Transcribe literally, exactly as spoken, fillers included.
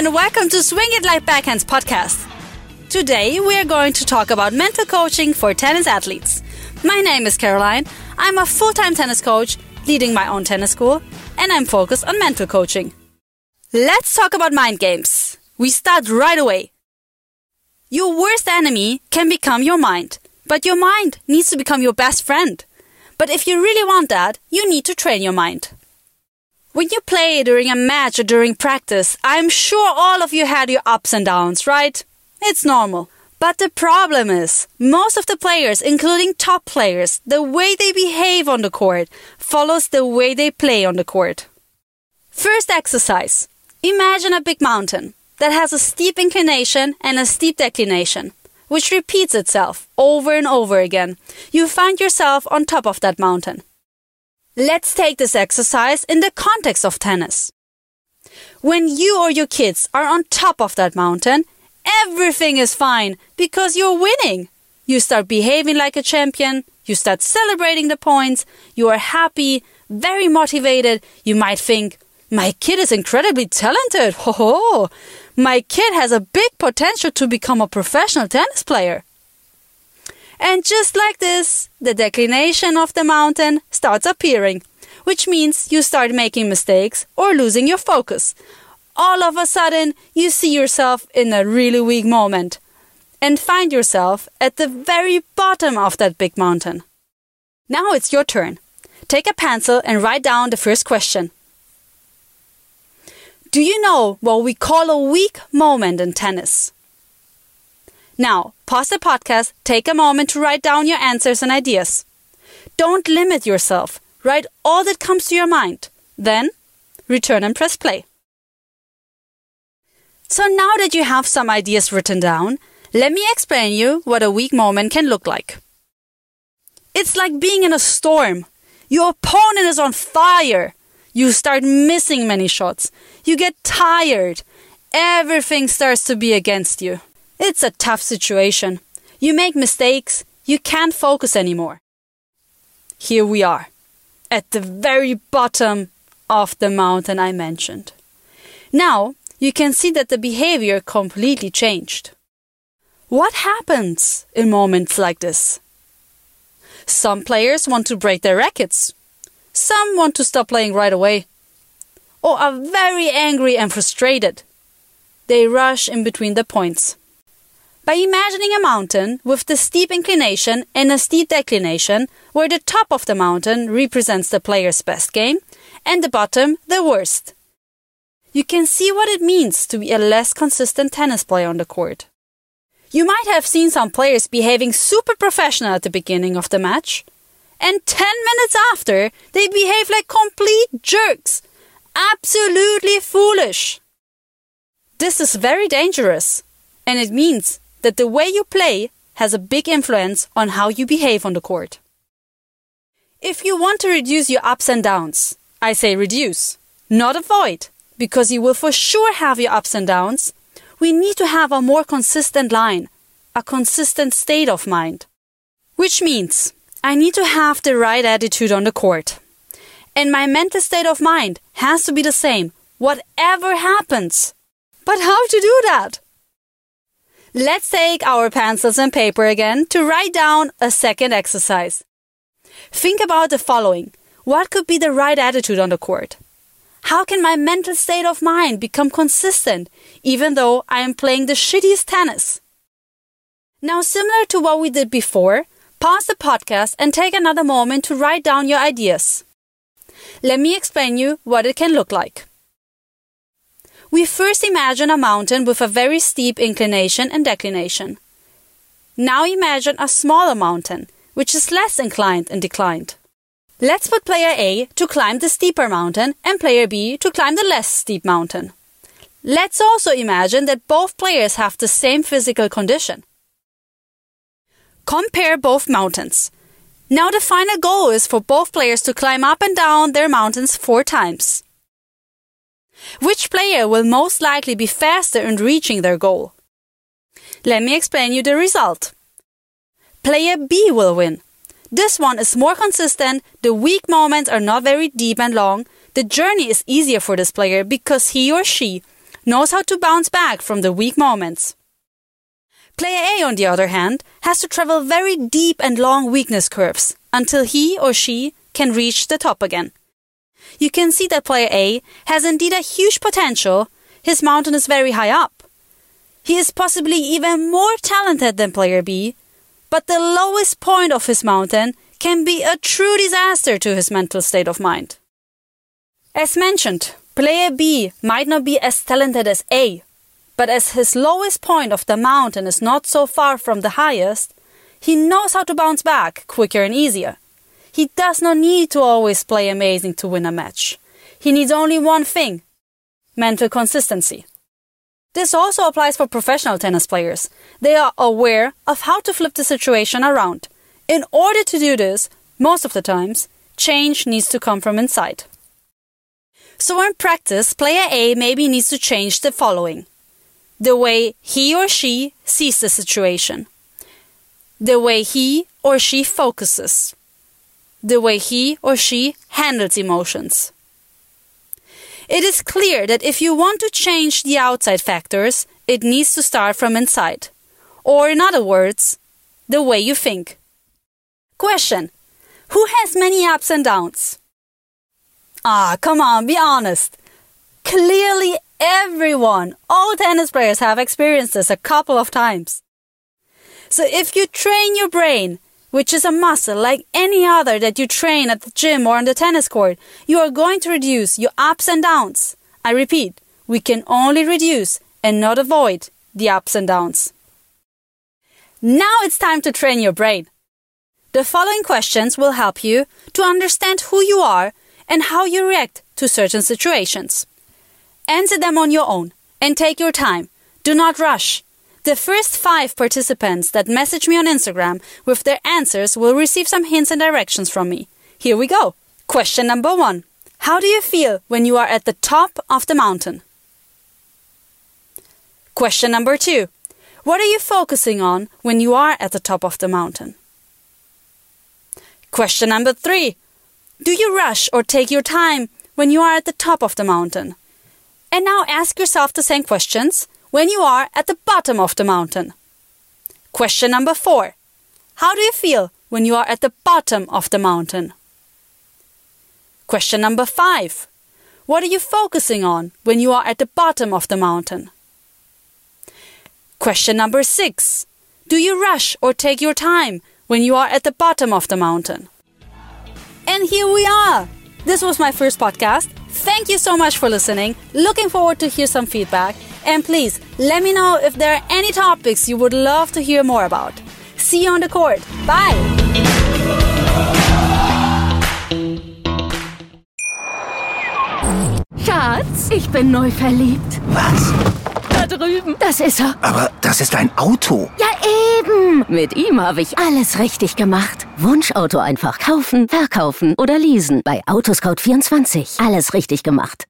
and welcome to Swing It Like Backhands podcast. Today we are going to talk about mental coaching for tennis athletes. My name is Caroline. I'm a full-time tennis coach, leading my own tennis school, and I'm focused on mental coaching. Let's talk about mind games. We start right away. Your worst enemy can become your mind, but your mind needs to become your best friend. But if you really want that, you need to train your mind. When you play during a match or during practice, I'm sure all of you had your ups and downs, right? It's normal. But the problem is, most of the players, including top players, the way they behave on the court follows the way they play on the court. First exercise. Imagine a big mountain that has a steep inclination and a steep declination, which repeats itself over and over again. You find yourself on top of that mountain. Let's take this exercise in the context of tennis. When you or your kids are on top of that mountain, everything is fine because you're winning. You start behaving like a champion, you start celebrating the points, you are happy, very motivated. You might think, my kid is incredibly talented. Ho ho! My kid has a big potential to become a professional tennis player. And just like this, the declination of the mountain starts appearing, which means you start making mistakes or losing your focus. All of a sudden, you see yourself in a really weak moment and find yourself at the very bottom of that big mountain. Now it's your turn. Take a pencil and write down the first question. Do you know what we call a weak moment in tennis? Now, pause the podcast, take a moment to write down your answers and ideas. Don't limit yourself. Write all that comes to your mind. Then, return and press play. So now that you have some ideas written down, let me explain you what a weak moment can look like. It's like being in a storm. Your opponent is on fire. You start missing many shots. You get tired. Everything starts to be against you. It's a tough situation. You make mistakes. You can't focus anymore. Here we are, at the very bottom of the mountain I mentioned. Now, you can see that the behavior completely changed. What happens in moments like this? Some players want to break their rackets. Some want to stop playing right away. Or are very angry and frustrated. They rush in between the points. By imagining a mountain with the steep inclination and a steep declination, where the top of the mountain represents the player's best game and the bottom the worst, you can see what it means to be a less consistent tennis player on the court. You might have seen some players behaving super professional at the beginning of the match, and ten minutes after, they behave like complete jerks. Absolutely foolish. This is very dangerous, and it means that the way you play has a big influence on how you behave on the court. If you want to reduce your ups and downs, I say reduce, not avoid, because you will for sure have your ups and downs. We need to have a more consistent line, a consistent state of mind. Which means I need to have the right attitude on the court. And my mental state of mind has to be the same, whatever happens. But how to do that? Let's take our pencils and paper again to write down a second exercise. Think about the following. What could be the right attitude on the court? How can my mental state of mind become consistent, even though I am playing the shittiest tennis? Now, similar to what we did before, pause the podcast and take another moment to write down your ideas. Let me explain you what it can look like. We first imagine a mountain with a very steep inclination and declination. Now imagine a smaller mountain, which is less inclined and declined. Let's put player A to climb the steeper mountain and player B to climb the less steep mountain. Let's also imagine that both players have the same physical condition. Compare both mountains. Now the final goal is for both players to climb up and down their mountains four times. Which player will most likely be faster in reaching their goal? Let me explain you the result. Player B will win. This one is more consistent, the weak moments are not very deep and long, the journey is easier for this player because he or she knows how to bounce back from the weak moments. Player A, on the other hand, has to travel very deep and long weakness curves until he or she can reach the top again. You can see that player A has indeed a huge potential. His mountain is very high up. He is possibly even more talented than player B, but the lowest point of his mountain can be a true disaster to his mental state of mind. As mentioned, player B might not be as talented as A, but as his lowest point of the mountain is not so far from the highest, he knows how to bounce back quicker and easier. He does not need to always play amazing to win a match. He needs only one thing: mental consistency. This also applies for professional tennis players. They are aware of how to flip the situation around. In order to do this, most of the times, change needs to come from inside. So in practice, player A maybe needs to change the following: the way he or she sees the situation, the way he or she focuses, the way he or she handles emotions. It is clear that if you want to change the outside factors, it needs to start from inside. Or in other words, the way you think. Question: who has many ups and downs? Ah, come on, be honest. Clearly everyone, all tennis players have experienced this a couple of times. So if you train your brain, which is a muscle like any other that you train at the gym or on the tennis court, you are going to reduce your ups and downs. I repeat, we can only reduce and not avoid the ups and downs. Now it's time to train your brain. The following questions will help you to understand who you are and how you react to certain situations. Answer them on your own and take your time. Do not rush. The first five participants that message me on Instagram with their answers will receive some hints and directions from me. Here we go. Question number one. How do you feel when you are at the top of the mountain? Question number two. What are you focusing on when you are at the top of the mountain? Question number three. Do you rush or take your time when you are at the top of the mountain? And now ask yourself the same questions when you are at the bottom of the mountain. Question number four. How do you feel when you are at the bottom of the mountain? Question number five. What are you focusing on when you are at the bottom of the mountain? Question number six. Do you rush or take your time when you are at the bottom of the mountain? And here we are. This was my first podcast. Thank you so much for listening. Looking forward to hear some feedback. And please, let me know if there are any topics you would love to hear more about. See you on the court. Bye! Schatz, ich bin neu verliebt. Was? Da drüben. Das ist er. Aber das ist ein Auto. Ja, eben. Mit ihm habe ich alles richtig gemacht. Wunschauto einfach kaufen, verkaufen oder leasen. Bei Autoscout vierundzwanzig. Alles richtig gemacht.